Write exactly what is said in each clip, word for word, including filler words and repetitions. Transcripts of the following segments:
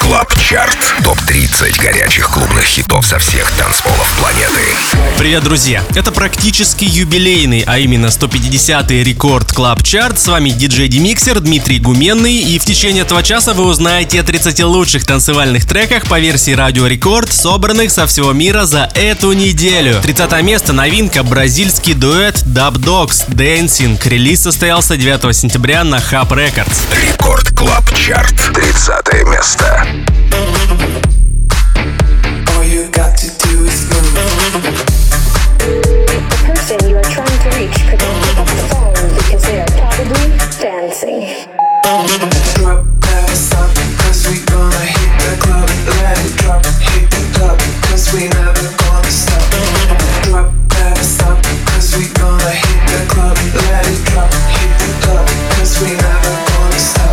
Клаб Чарт. топ тридцать горячих клубных хитов со всех танцполов планеты. Привет, друзья! Это практически юбилейный, а именно сто пятидесятый рекорд Клаб Чарт. С вами диджей Демиксер Дмитрий Гуменный. И в течение этого часа вы узнаете о тридцати лучших танцевальных треках по версии Радио Рекорд, собранных со всего мира за эту неделю. тридцатое место — новинка, бразильский дуэт Dub Dogs Dancing. Релиз состоялся девятого сентября на Hub Records. Рекорд Клаб Чарт. тридцатое место. All you got to do is move. The person you are trying to reach could not pick up the phone because they are probably dancing. Drop that stop, cause we gonna hit the club. Let it drop, hit the club, cause we never gonna stop. Drop that stop, cause we gonna hit the club. Let it drop, hit the club, cause we never gonna stop.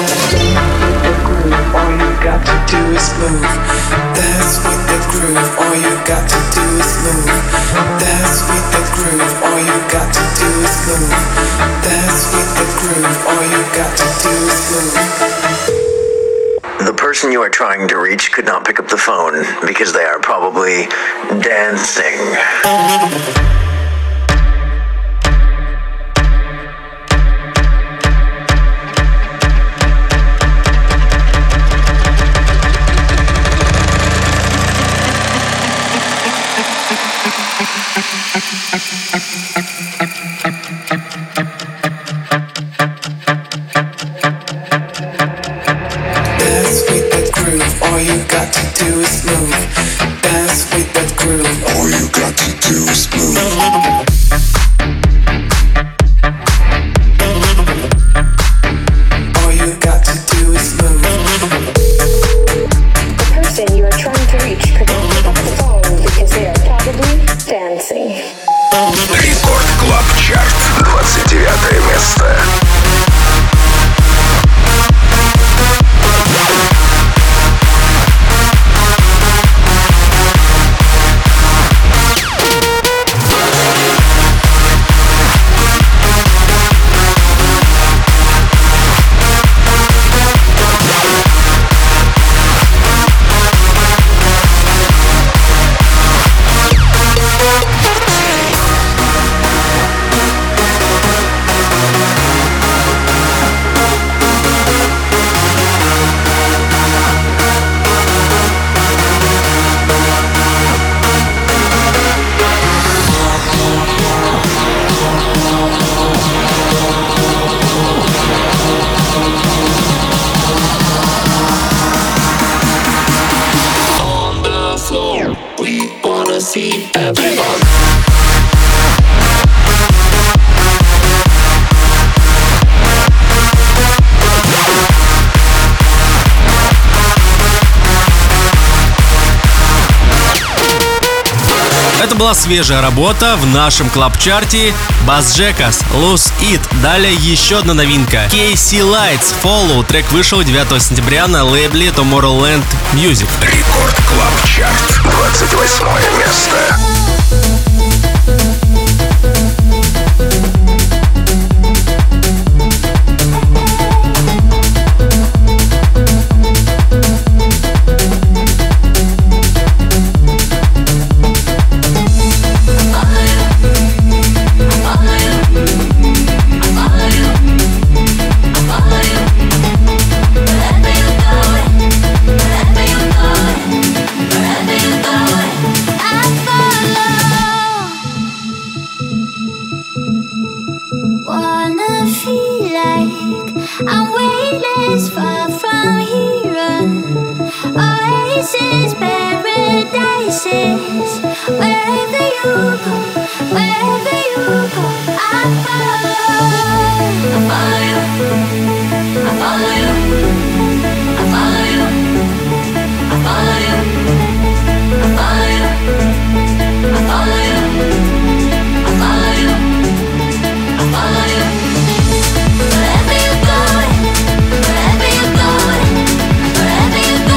All you got to do is move. Dance with the groove. All you got to do is move. Dance with the groove. All you got to do is move. Dance with the groove. All you got to do is move. The person you are trying to reach could not pick up the phone because they are probably dancing. Dance with the groove. All you got to do is move. Dance with the groove. All you got to do is move. All you got to do is move. The person you are trying to reach could not pick up the phone because they are probably dancing. Рекорд Клаб Чарт. двадцать девятое место. Это была свежая работа в нашем клаб-чарте. Bass Jackers, Lose It. Далее еще одна новинка. кей си Lights, Follow. Трек вышел девятого сентября на лейбле Tomorrowland Music. Рекорд Клаб Чарт. двадцать восьмое место.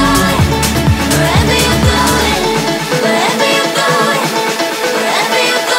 Wherever you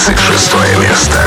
двадцать шестое место.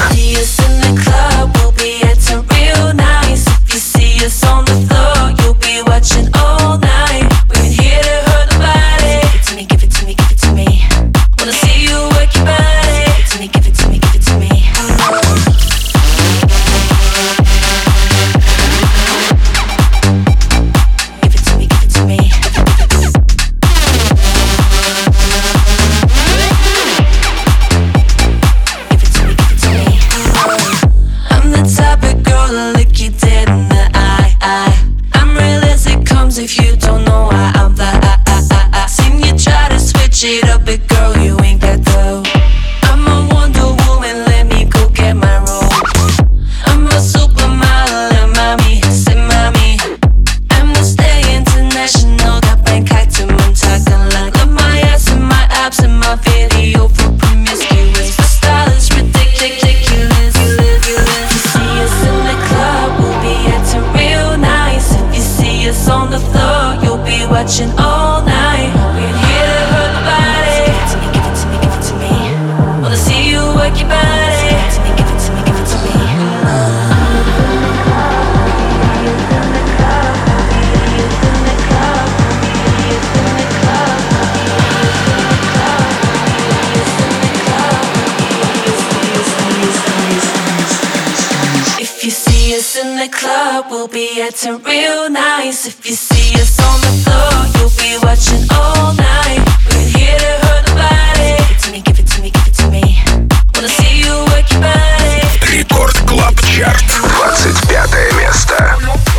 Getting real nice. If you see us on the floor, you'll be watching all night. We're here to hurt the body. Give it to me, give it to me, give it to me. Wanna see you work your body. Рекорд Клаб Чарт. двадцать пятое место.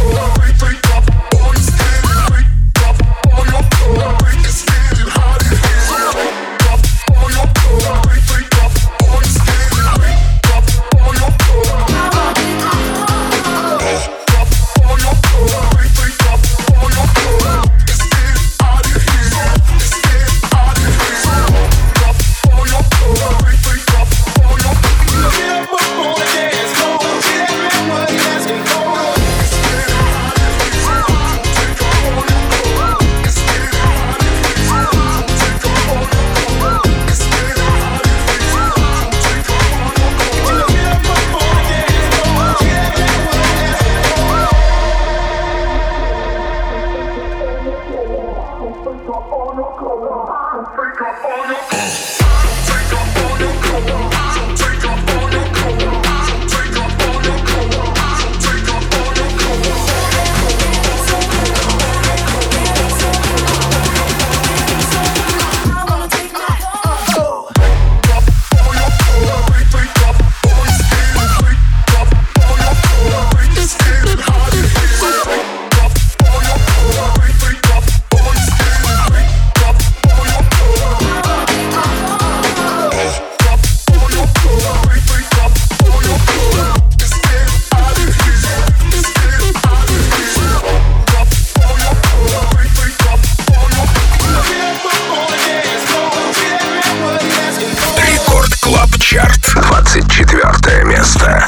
двадцать четвертое место.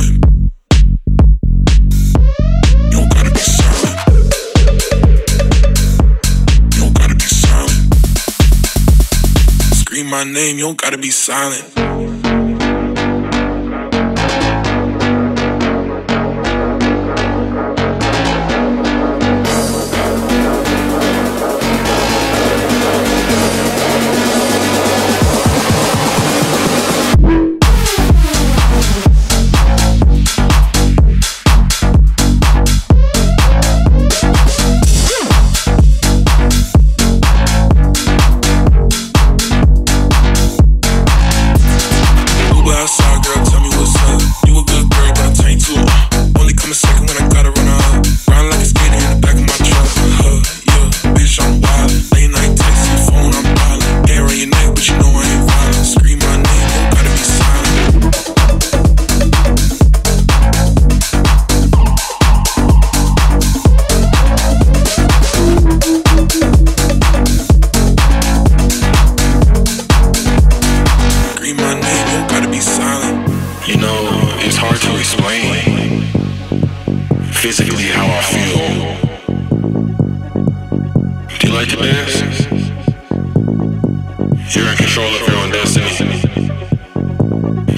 Scream my name, you don't gotta be silent. Physically how I feel. Do you like to dance? You're in control of your own destiny.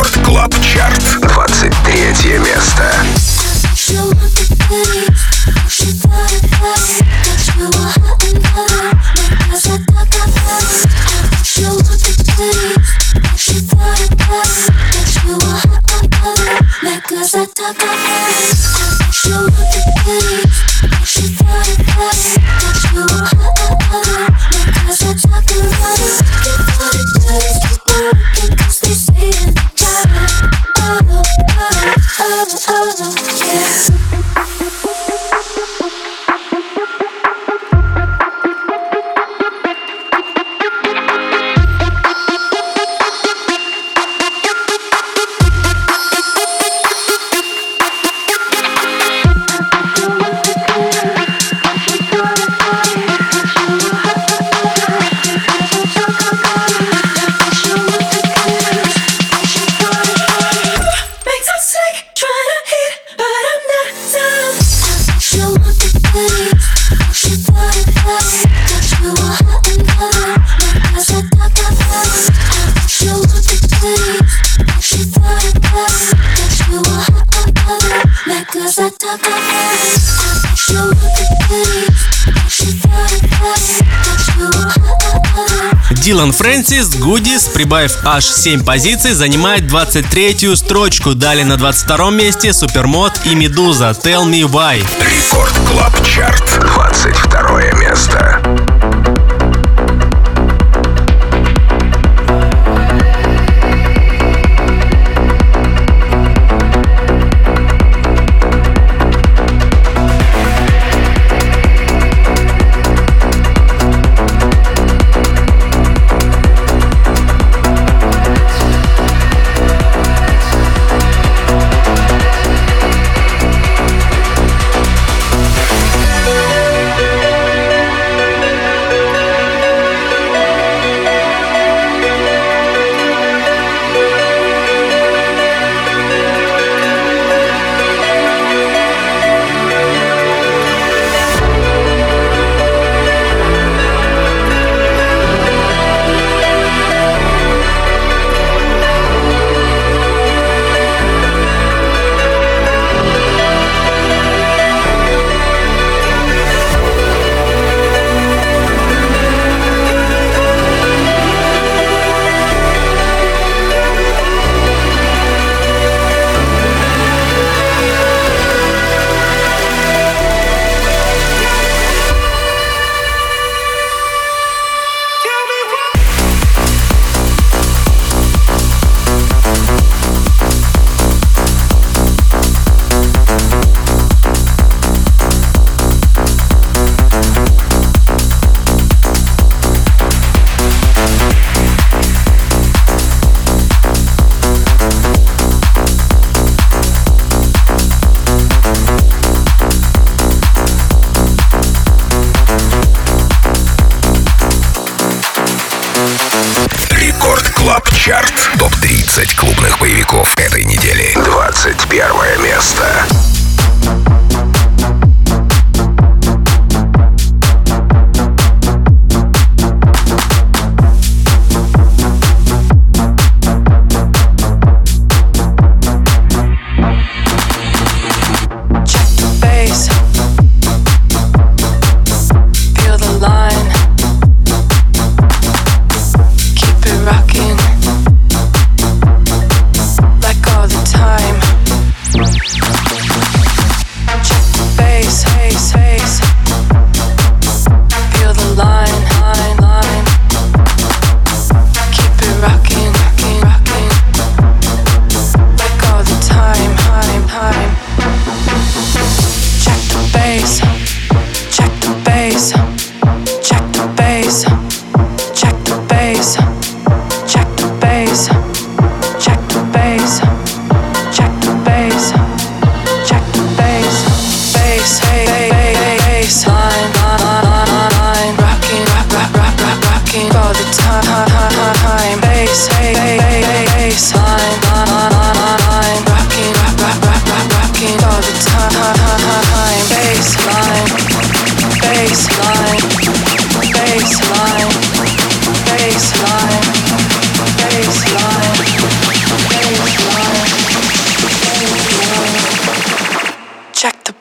Рекорд Клаб Чарт. двадцать третье место. Дилан Фрэнсис, Гудис, прибавив аж семь позиций, занимает двадцать третью строчку. Далее на двадцать втором месте Супермод и Медуза Tell Me Why. Рекорд Клаб Чарт. двадцать второе место.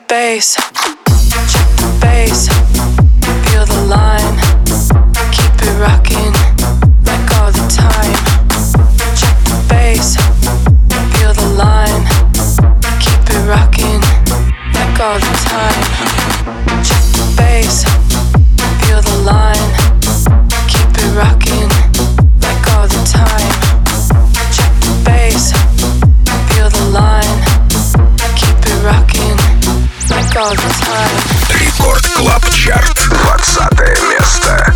bass, check the bass, feel the line, keep it rocking like all the time. Check the bass, feel the line, keep it rocking like all the time. Check the bass, feel the line, keep it rocking like all the time. Check the bass, feel the line, keep it rocking like all the time. Рекорд Клаб Чарт, двадцатое место.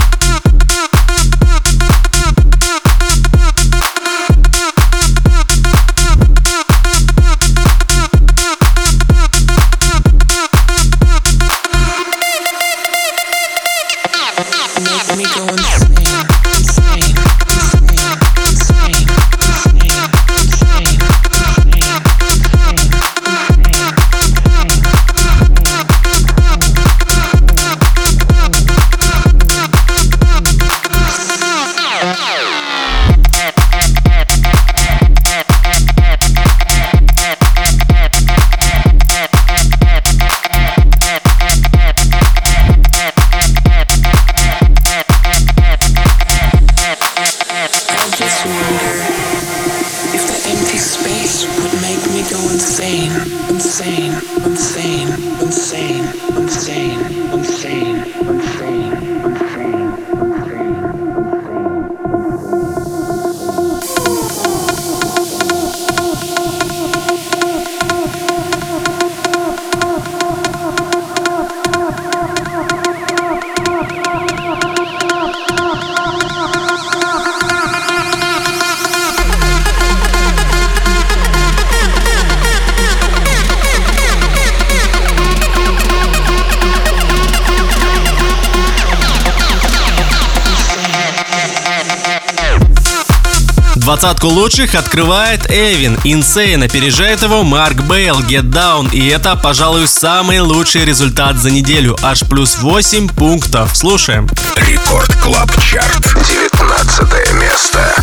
Двадцатку лучших открывает Эвин. Insane опережает его Марк Бейл, Get Down. И это, пожалуй, самый лучший результат за неделю. Аж плюс восемь пунктов. Слушаем. Рекорд Клаб Чарт, девятнадцатое место.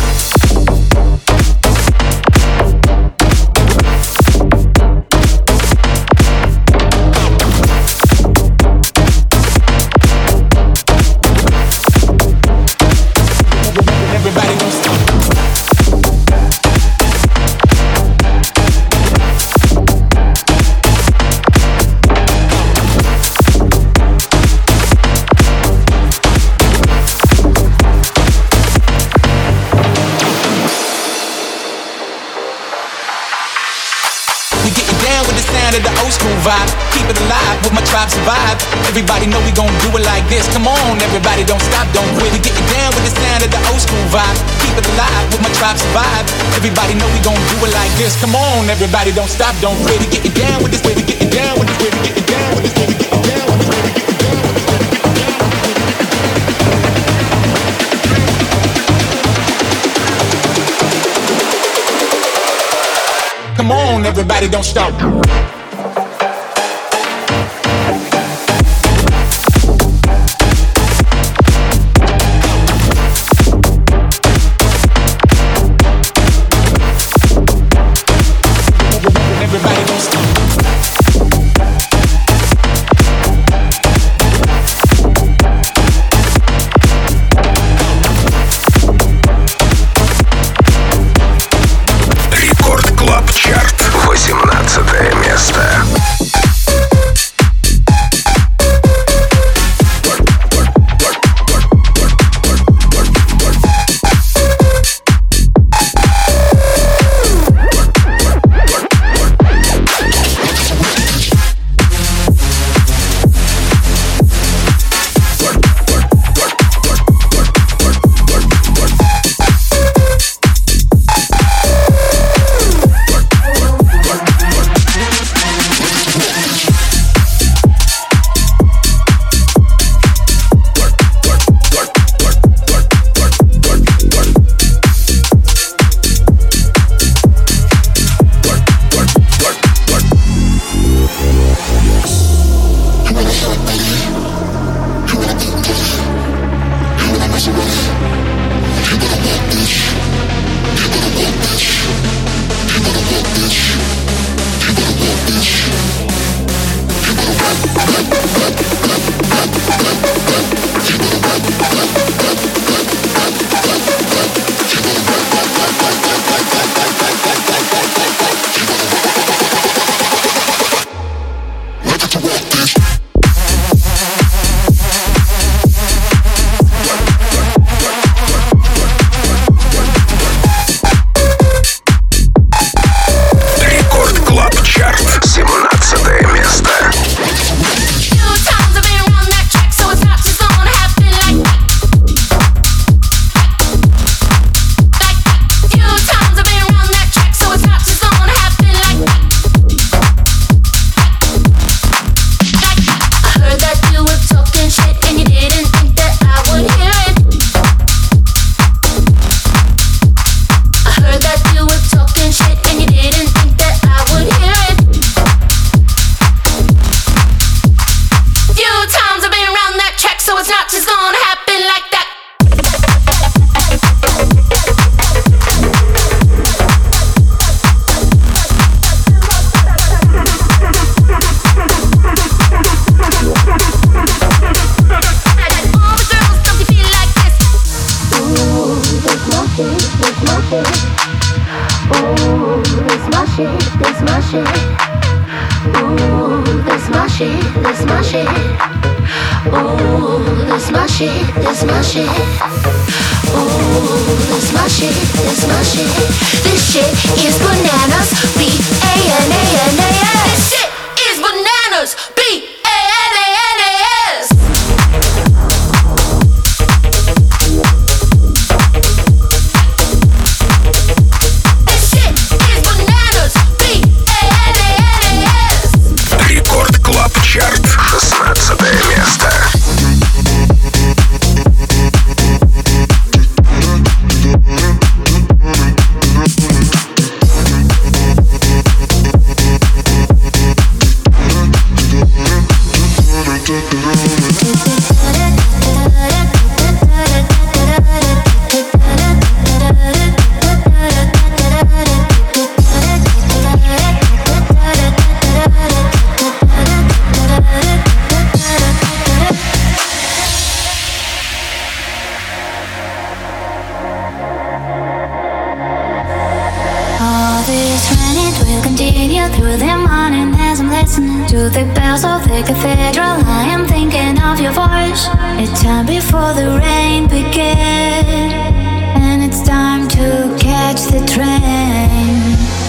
Vibe. Keep it alive, with my tribe survive. Everybody know we gon' do it like this. Come on, everybody don't stop, don't quit. We getting down with the sound of the old school vibe. Keep it alive, with my tribe survive. Everybody know we gon' do it like this. Come on, everybody don't stop, don't quit. We getting down with this way, we getting down with this way, we getting down with this way, we getting down with this way, we getting down with this way, we getting down with this way. Come on, everybody don't stop. Рекорд Клаб Чарт, восемнадцатое место. my shit, this my shit. Ooh, this my shit, this my shit. Ooh, this my shit, this my shit. Ooh, this my shit, this my shit. This shit is bananas. B A N A N A S. This shit is bananas. B A N A N A S. This shit is bananas. B A N A N A S. Рекорд Клаб Чарт, шестнадцатое место. All this running will continue through the morning as I'm listening to the bells of the cathedral. I am thinking of your voice. It's time before the rain begins, and it's time to catch the train.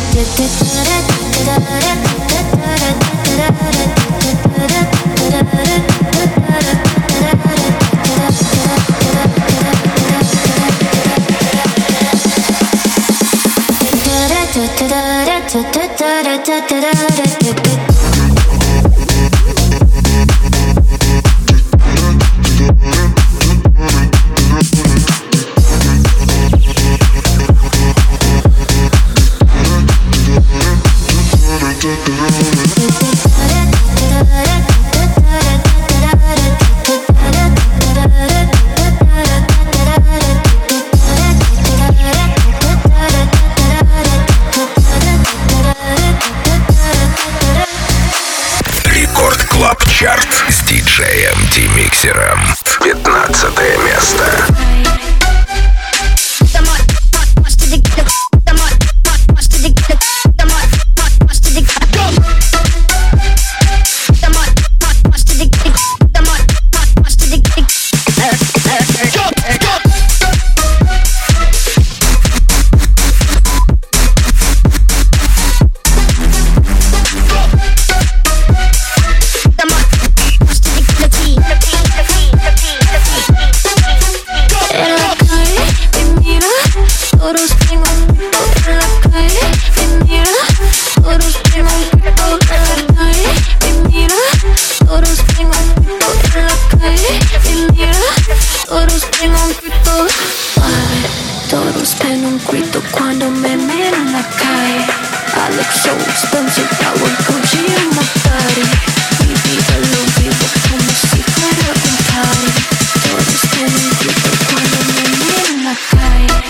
Рекорд Клаб Чарт с диджеем Ди-Миксером. пятнадцатое место. Todos ven un grito cuando me miran en la calle. I look so expensive, I would Gucci in my body. Mi vida lo vivo como si fuera un party. Todos ven un grito cuando me miran en la calle.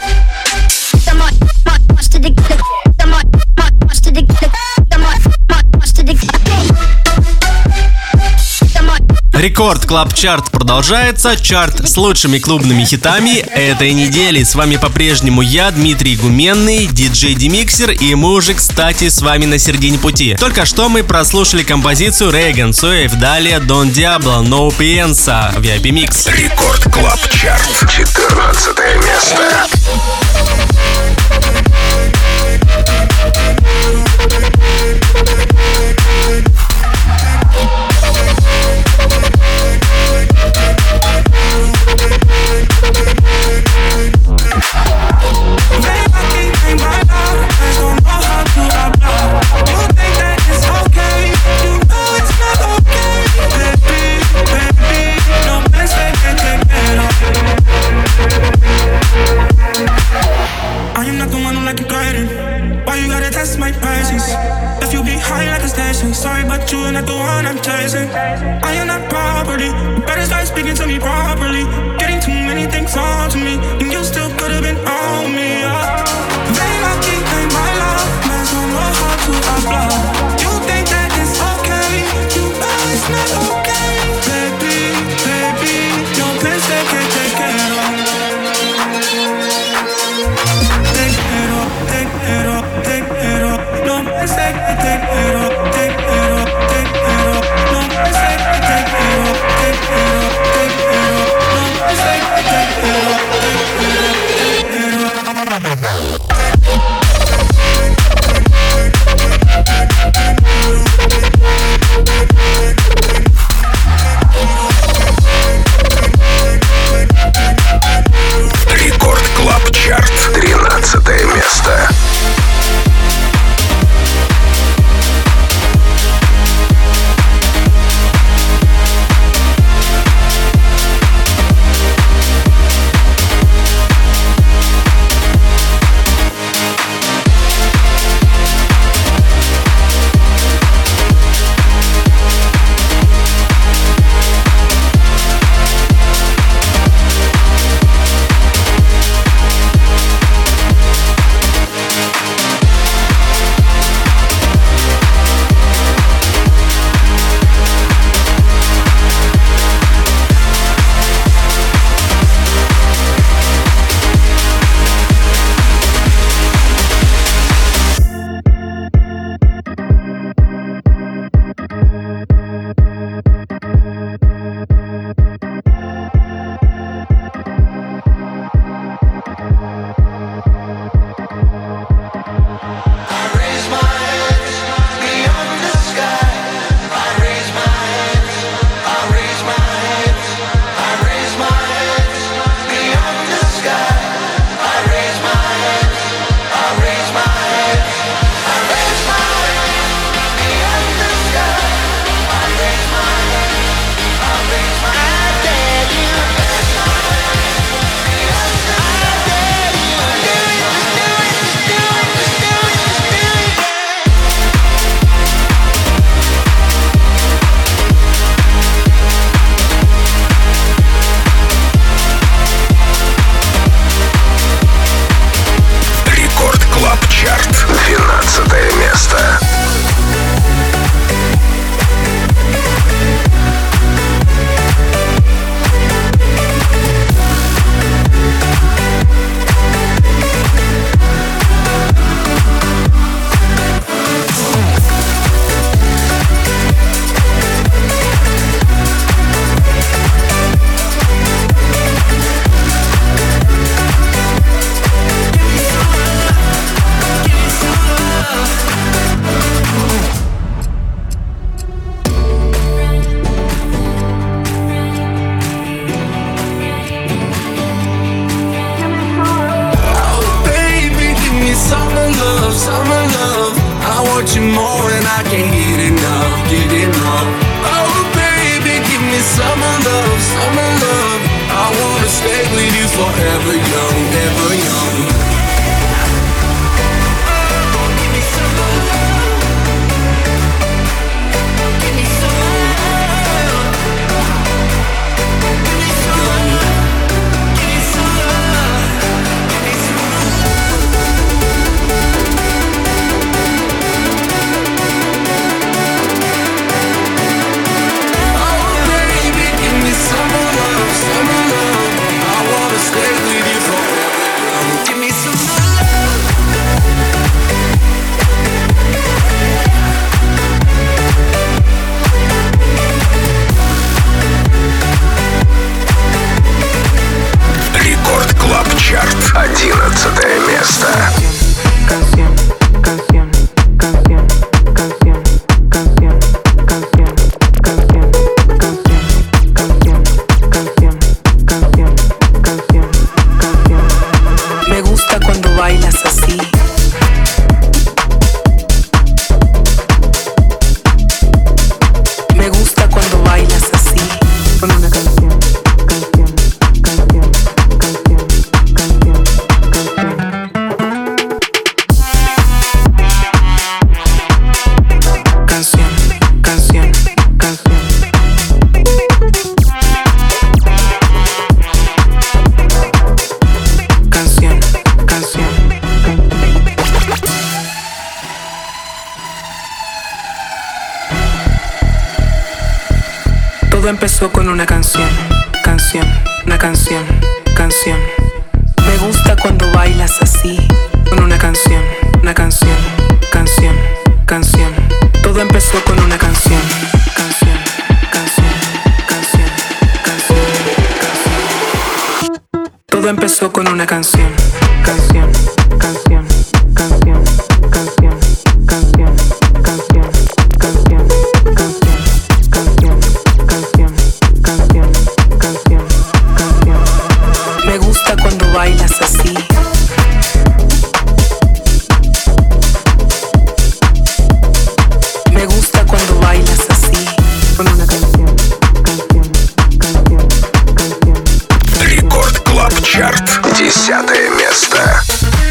Рекорд Клаб Чарт продолжается. Чарт с лучшими клубными хитами этой недели. С вами по-прежнему я, Дмитрий Гуменный, диджей Ди-Миксер, и мы уже, кстати, с вами на середине пути. Только что мы прослушали композицию Рейган Суэйв, далее Дон Диабло, No Piensa в ви ай пи Mix. Рекорд Клаб Чарт, четырнадцатое место. Sorry, but you're not the one I'm chasing. I am not property. You better start speaking to me properly. Getting too many things on to me, and you still could have been on me. Yeah. Very lucky ain't my love. Man, don't know how to apply. You think that it's okay? You know it's not okay, baby, baby. Your plans they can't take care of. Take care of, take care of, take care of. say take it off, take it off, take it off. No, I say take it off, take it off, take it off. No, I say take it off, take it off, take it off. Рекорд Клаб Чарт, тринадцатое место. одиннадцатое место. Canción, canción, canción, canción, canción, canción, canción, canción, canción, canción, canción, canción, canción. Me gusta cuando bailas así. Me gusta cuando bailas así. Con una canción, canción, canción, canción, canción, canción. Canción, canción, canción. Canción, canción, canción. Todo empezó con una canción, canción, una canción, canción. Me gusta cuando bailas así. Con una canción, una canción, canción, empezó con una canción, canción, canción, canción, canción, canción, canción, canción, canción, canción, canción, canción, canción, canción. Me gusta cuando bailas así. Me gusta cuando bailas así, con una canción, canción, canción, canción. Рекорд Клаб Чарт. Десятое место.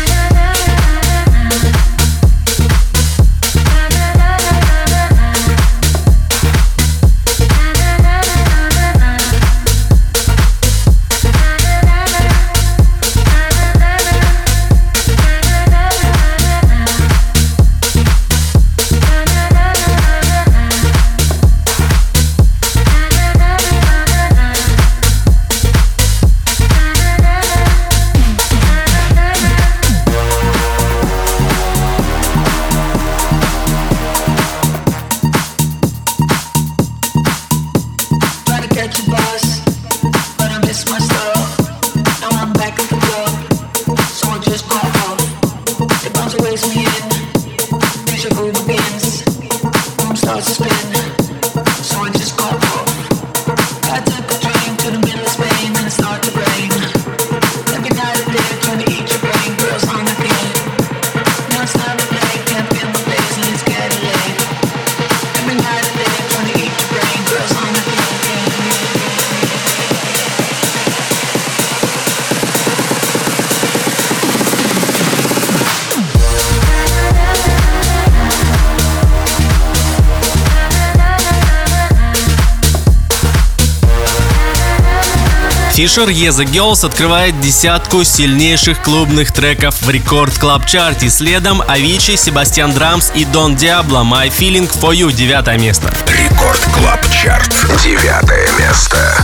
Fisher Yeah The Girls открывает десятку сильнейших клубных треков в Рекорд Клаб Чарте. Следом Avicii, Себастьян Драмс и Don Diablo My Feeling For You, девятое место. Рекорд Клаб Чарт. Девятое место.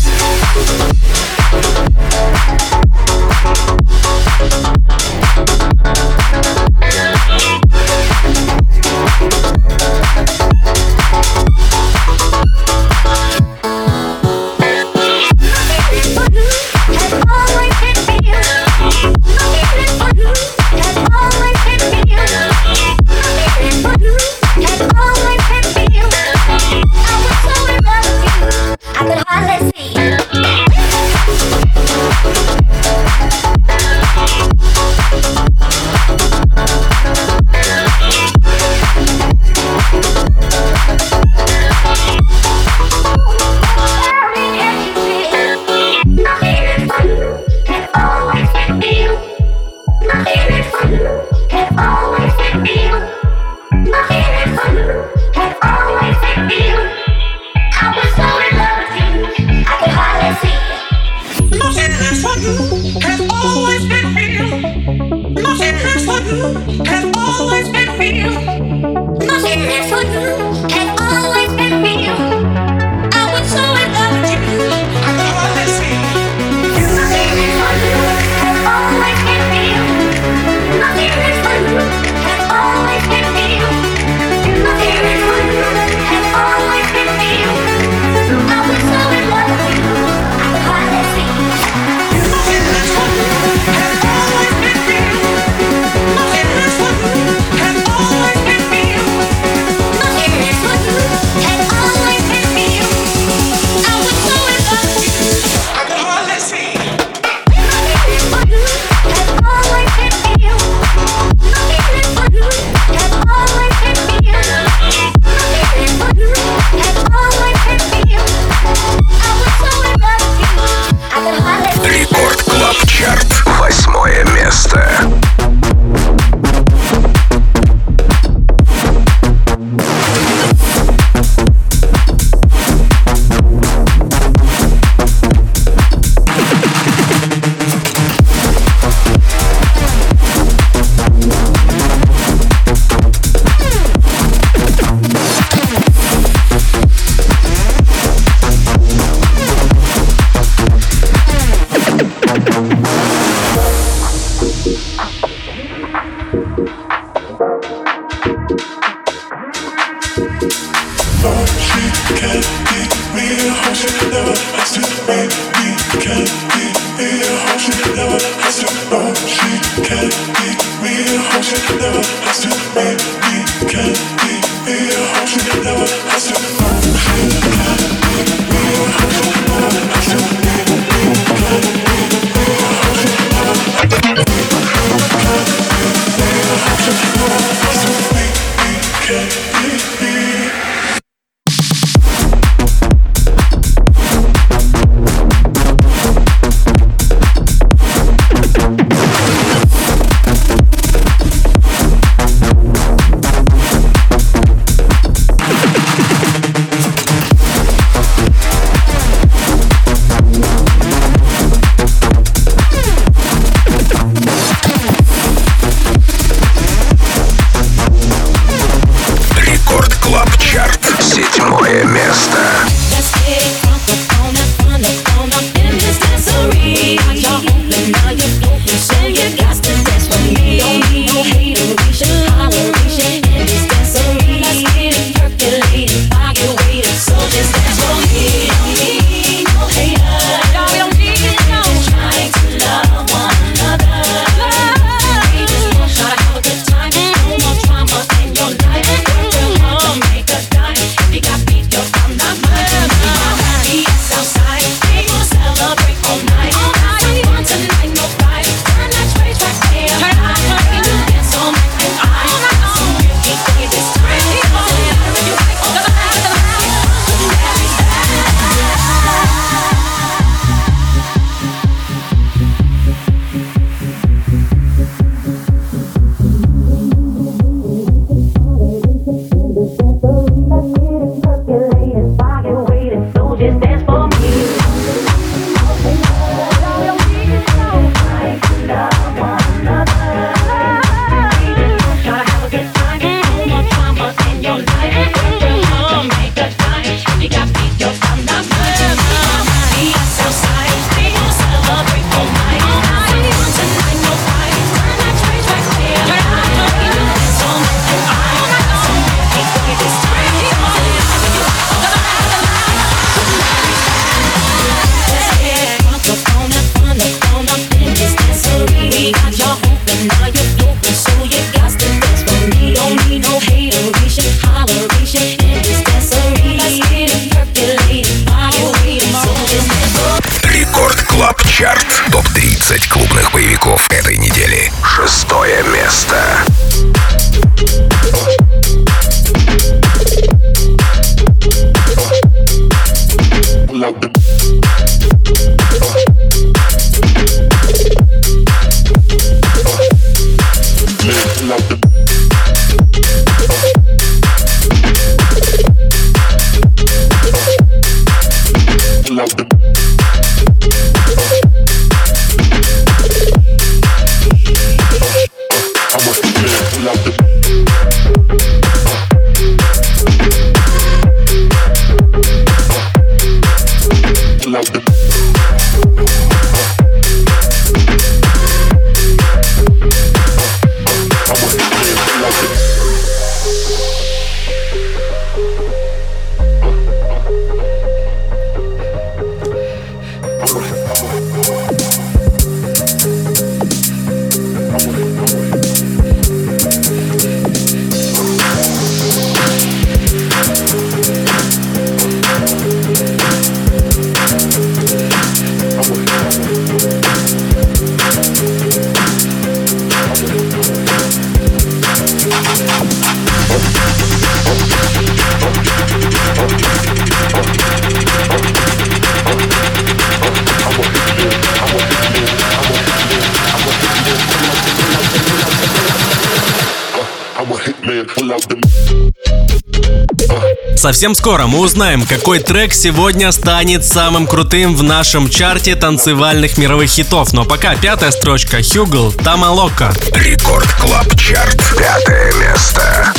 Совсем скоро мы узнаем, какой трек сегодня станет самым крутым в нашем чарте танцевальных мировых хитов. Но пока пятая строчка. Хьюгл, Тамалока. Рекорд Клаб Чарт. Пятое место.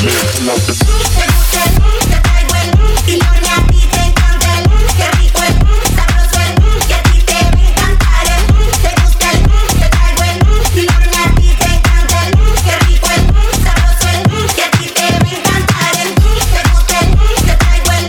Bueno,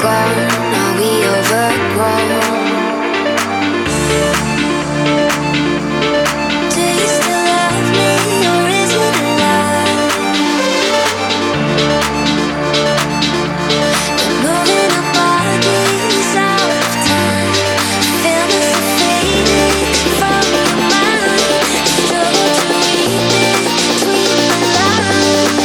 gone, now we overgrown. Do you still love me, or is it a lie? We're moving our bodies out of time. Feel this fading from your mind. Struggle to read between the lines.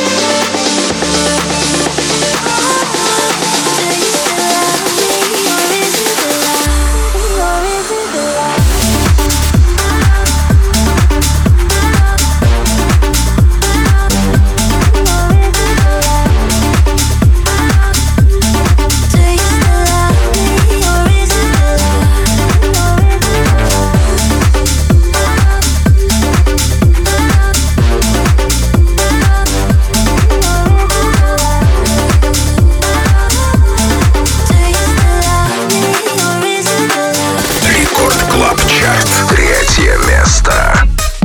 Do you still love me, or is it a lie? Or is it a lie? Рекорд Клаб Чарт. Третье место.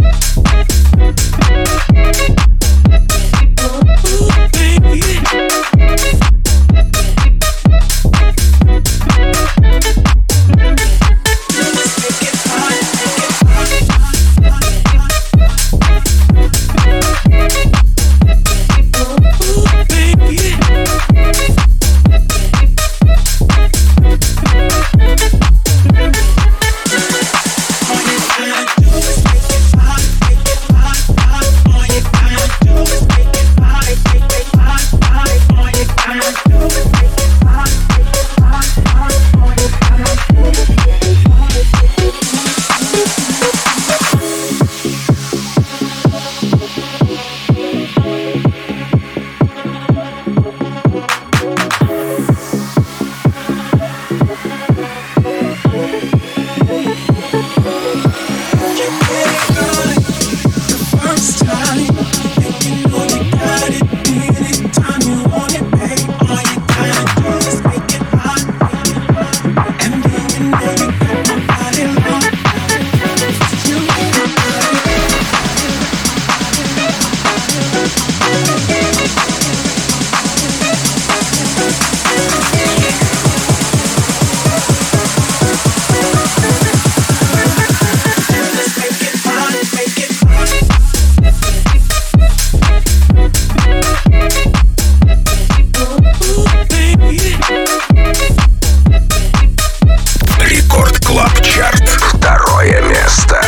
Рекорд Клаб Чарт. Второе место.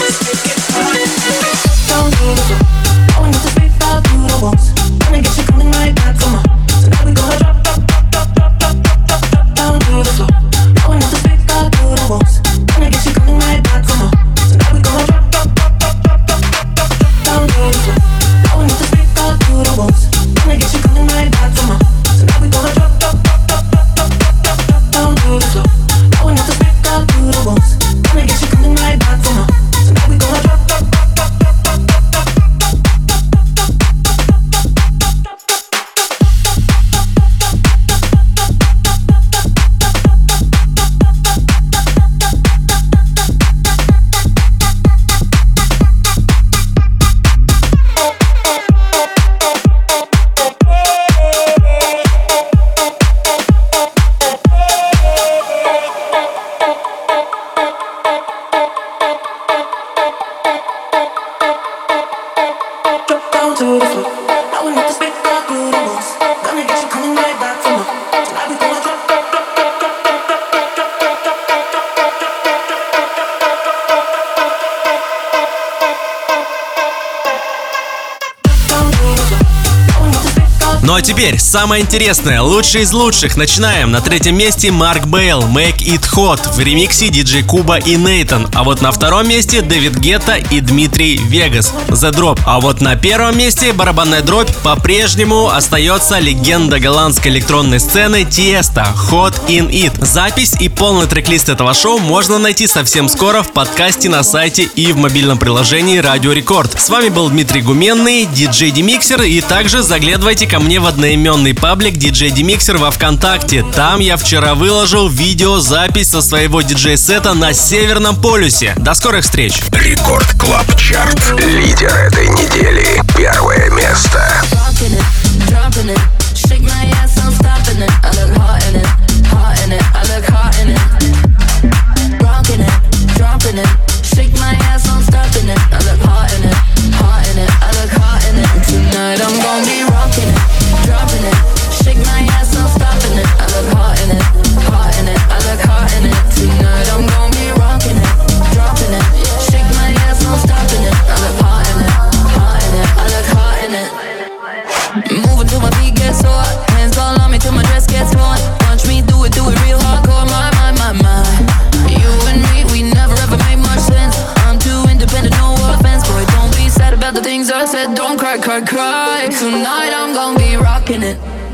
Ну а теперь самое интересное, лучший из лучших. Начинаем. На третьем месте Марк Бейл, Make It Hot в ремиксе диджей Куба и Нейтан. А вот на втором месте Дэвид Гетта и Дмитрий Вегас, The Drop. А вот на первом месте барабанная дробь по-прежнему остается легенда голландской электронной сцены Тиеста, Hot In It. Запись и полный трек-лист этого шоу можно найти совсем скоро в подкасте на сайте и в мобильном приложении Радио Рекорд. С вами был Дмитрий Гуменный, диджей Демиксер, и также заглядывайте ко мне в одноименный паблик диджей Демиксер во ВКонтакте. Там я вчера выложил видеозапись со своего диджей-сета на Северном полюсе. До скорых встреч! Рекорд Клаб Чарт. Лидер этой недели. Первое место. Dropping it, dropping it. Shake my ass, I'm stopping it. I look hot in it.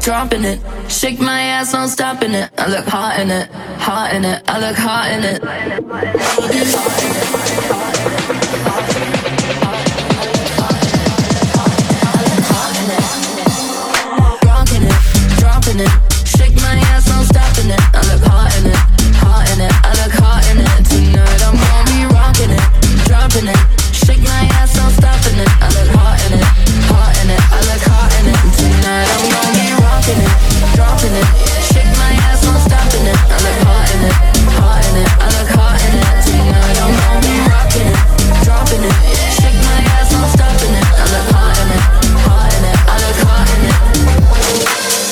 dropping it. Shake my ass, no stopping it. I look hot in it, hot in it. I look hot in it.